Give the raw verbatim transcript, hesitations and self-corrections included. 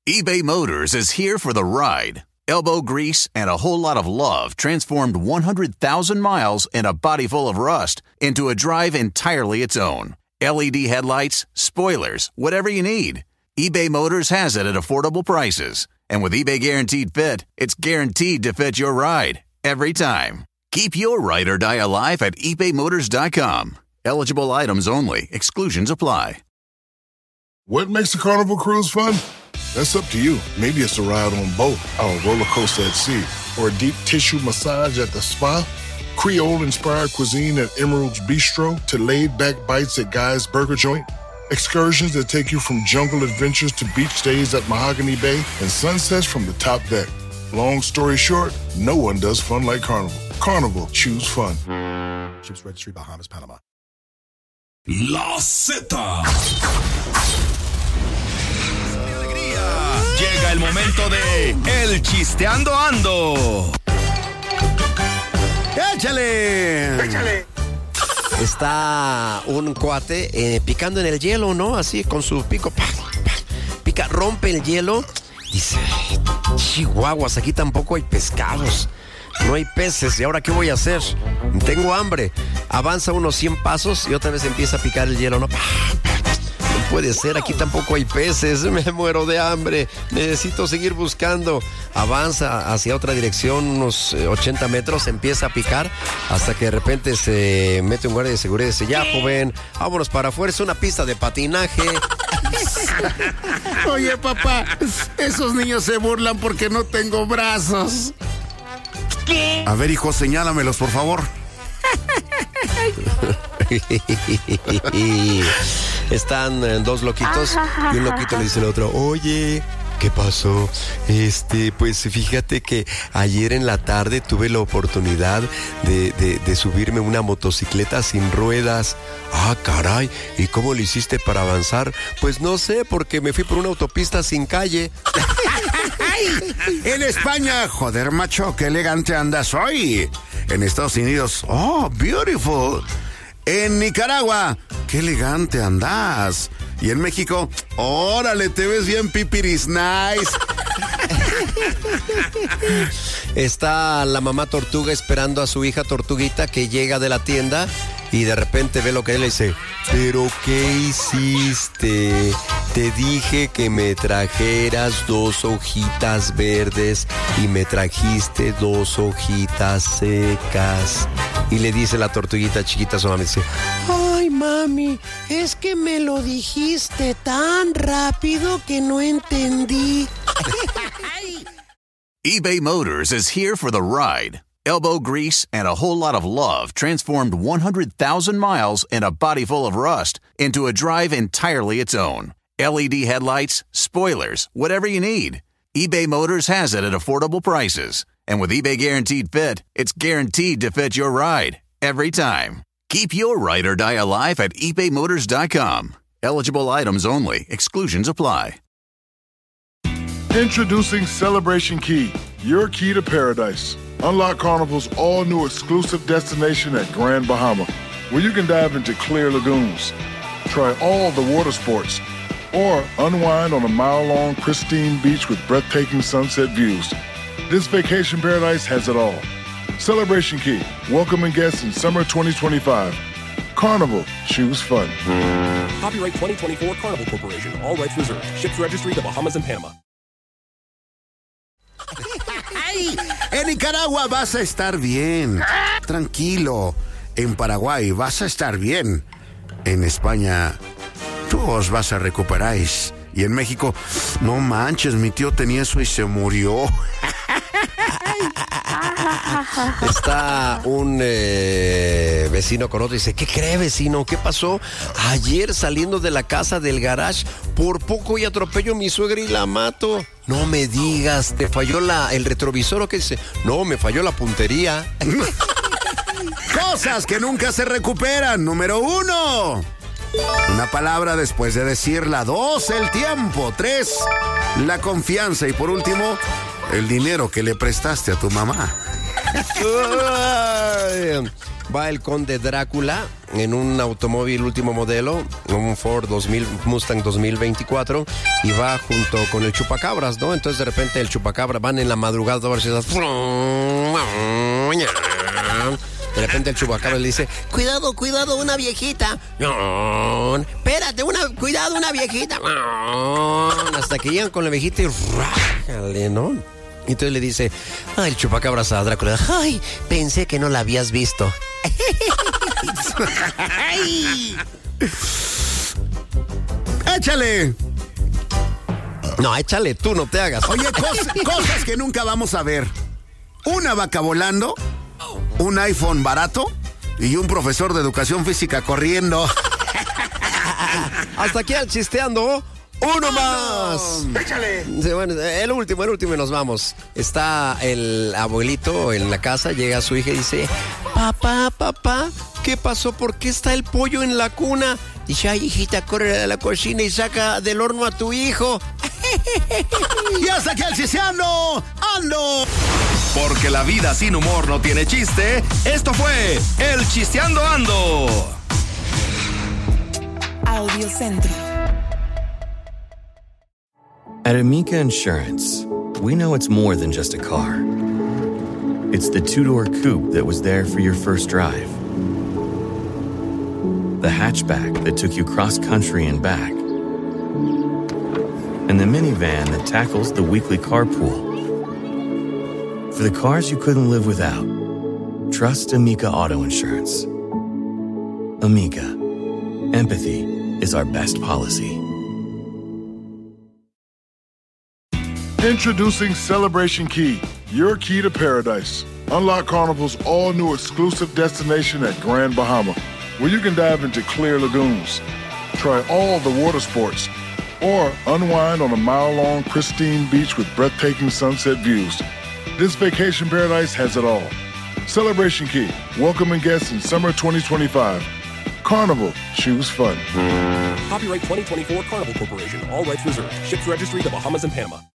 eBay Motors is here for the ride. Elbow grease and a whole lot of love transformed one hundred thousand miles and a body full of rust into a drive entirely its own. L E D headlights, spoilers, whatever you need. eBay Motors has it at affordable prices. And with eBay Guaranteed Fit, it's guaranteed to fit your ride every time. Keep your ride or die alive at ebay motors dot com. Eligible items only. Exclusions apply. What makes a Carnival cruise fun? That's up to you. Maybe it's a ride on boat, or a roller coaster at sea, or a deep tissue massage at the spa, Creole-inspired cuisine at Emerald's Bistro, to laid-back bites at Guy's Burger Joint, excursions that take you from jungle adventures to beach stays at Mahogany Bay, and sunsets from the top deck. Long story short, no one does fun like Carnival. Carnival, choose fun. Ships Registry, Bahamas, Panama. La Z. Llega el momento de El Chisteando Ando. ¡Échale! ¡Échale! Está un cuate eh, picando en el hielo, ¿no? Así con su pico. Pa, pa, pica, rompe el hielo. Dice, chihuahuas, aquí tampoco hay pescados. No hay peces. ¿Y ahora qué voy a hacer? Tengo hambre. Avanza unos cien pasos y otra vez empieza a picar el hielo, ¿no? Pa, pa. No puede ser, aquí tampoco hay peces, me muero de hambre, necesito seguir buscando. Avanza hacia otra dirección, unos ochenta metros, empieza a picar, hasta que de repente se mete un guardia de seguridad y dice, ya joven, vámonos para afuera, es una pista de patinaje. Oye papá, esos niños se burlan porque no tengo brazos. ¿Qué? A ver hijo, señálamelos por favor. Están dos loquitos y un loquito le dice al otro, oye, ¿qué pasó? Este, pues fíjate que ayer en la tarde tuve la oportunidad de, de, de subirme una motocicleta sin ruedas. Ah, caray, ¿y cómo lo hiciste para avanzar? Pues no sé, porque me fui por una autopista sin calle. En España, joder macho, qué elegante andas hoy. En Estados Unidos, oh, beautiful. En Nicaragua, qué elegante andas. Y en México, órale, te ves bien pipiris nice. Está la mamá tortuga esperando a su hija tortuguita que llega de la tienda y de repente ve lo que él le dice, ¿pero qué hiciste? Te dije que me trajeras dos hojitas verdes y me trajiste dos hojitas secas. Y le dice la tortuguita chiquita a su mamá, dice, ay mami, es que me lo dijiste tan rápido que no entendí. eBay Motors is here for the ride. Elbow grease and a whole lot of love transformed one hundred thousand miles and a body full of rust into a drive entirely its own. L E D headlights, spoilers, whatever you need. eBay Motors has it at affordable prices. And with eBay Guaranteed Fit, it's guaranteed to fit your ride every time. Keep your ride or die alive at ebay motors dot com. Eligible items only. Exclusions apply. Introducing Celebration Key, your key to paradise. Unlock Carnival's all-new exclusive destination at Grand Bahama, where you can dive into clear lagoons, try all the water sports, or unwind on a mile-long pristine beach with breathtaking sunset views. This vacation paradise has it all. Celebration Key, welcoming guests in summer twenty twenty-five. Carnival, choose fun. Copyright twenty twenty-four Carnival Corporation, all rights reserved. Ships Registry, the Bahamas and Panama. En Nicaragua vas a estar bien. Tranquilo. En Paraguay vas a estar bien. En España, tú os vas a recuperar. Y en México, no manches, mi tío tenía eso y se murió. Está un eh, vecino con otro y dice, ¿qué cree vecino? ¿Qué pasó? Ayer saliendo de la casa del garage, por poco y atropello a mi suegra y la mato. No me digas, ¿te falló la, el retrovisor o qué dice? No, me falló la puntería. Cosas que nunca se recuperan. Número uno, una palabra después de decirla. Dos, el tiempo. Tres, la confianza. Y por último, el dinero que le prestaste a tu mamá. Va el conde Drácula en un automóvil último modelo, un Ford dos mil, Mustang dos mil veinticuatro, y va junto con el chupacabras, ¿no? Entonces de repente el chupacabra van en la madrugada a ver si las... De repente el chupacabra le dice, cuidado, cuidado, una viejita. Espérate, una, cuidado, una viejita. Hasta que llegan con la viejita y rájale, ¿no? Y entonces le dice, ay, el chupacabras a Drácula, ay, pensé que no la habías visto. ¡Échale! No, échale, tú no te hagas. Oye, cos- cosas que nunca vamos a ver. Una vaca volando, un iPhone barato y un profesor de educación física corriendo. Hasta aquí al chisteando. ¡Uno más! ¡Échale! Sí, bueno, el último, el último y nos vamos. Está el abuelito en la casa, llega su hija y dice, papá, papá, ¿qué pasó? ¿Por qué está el pollo en la cuna? Dice, ay, hijita, corre a la cocina y saca del horno a tu hijo. Y hasta aquí el chisteando. ¡Ando! Porque la vida sin humor no tiene chiste, esto fue El Chisteando Ando. Audio Centro. At Amica Insurance, we know it's more than just a car. It's the two-door coupe that was there for your first drive. The hatchback that took you cross-country and back. And the minivan that tackles the weekly carpool. For the cars you couldn't live without, trust Amica Auto Insurance. Amica. Empathy is our best policy. Introducing Celebration Key, your key to paradise. Unlock Carnival's all-new exclusive destination at Grand Bahama, where you can dive into clear lagoons, try all the water sports, or unwind on a mile-long pristine beach with breathtaking sunset views. This vacation paradise has it all. Celebration Key, welcoming guests in summer twenty twenty-five. Carnival, choose fun. Copyright twenty twenty-four Carnival Corporation. All rights reserved. Ships registry: the Bahamas and Panama.